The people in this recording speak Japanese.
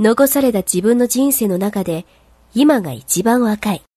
残された自分の人生の中で今が一番若い。